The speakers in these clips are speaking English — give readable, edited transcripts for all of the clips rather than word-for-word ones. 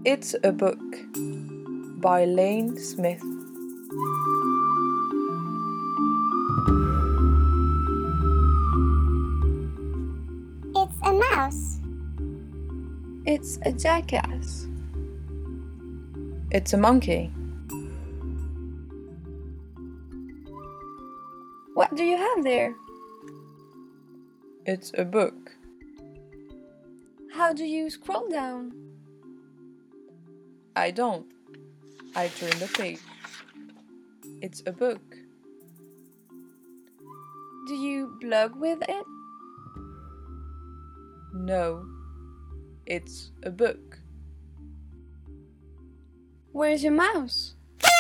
It's a Book by Lane Smith. It's a mouse. It's a jackass. It's a monkey. What do you have there? It's a book. How do you scroll down? I don't. I turn the page. It's a book. Do you blog with it? No. It's a book. Where's your mouse?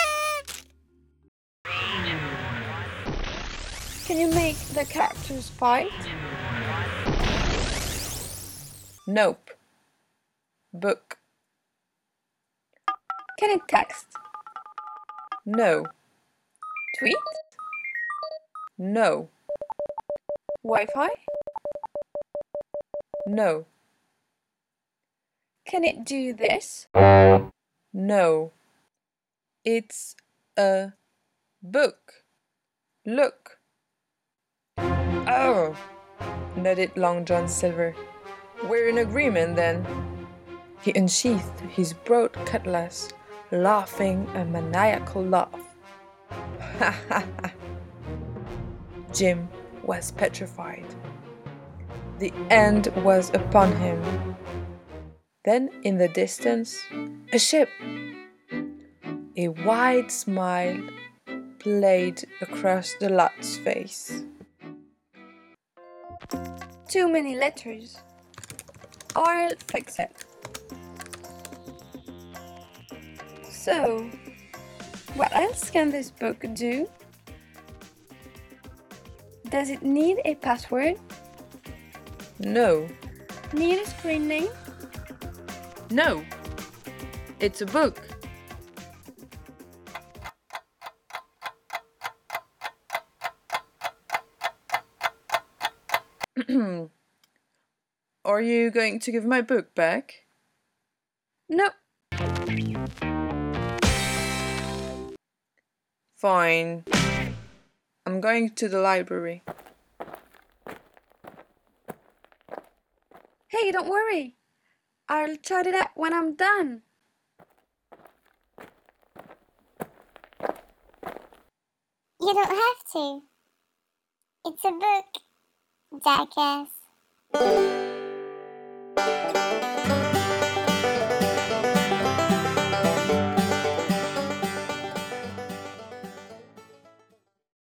Can you make the characters fight? Nope. Book. Can it text? No. Tweet? No. Wi-Fi? No. Can it do this? No. It's a book. Look. Oh, nodded Long John Silver. We're in agreement then. He unsheathed his broad cutlass, laughing a maniacal laugh. Ha ha ha. Jim was petrified. The end was upon him. Then in the distance, a ship. A wide smile played across the lad's face. Too many letters. I'll fix it. So, what else can this book do? Does it need a password? No. Need a screen name? No. It's a book. Are you going to give my book back? No. Fine. I'm going to the library. Hey, don't worry. I'll chat it up when I'm done. You don't have to. It's a book, jackass.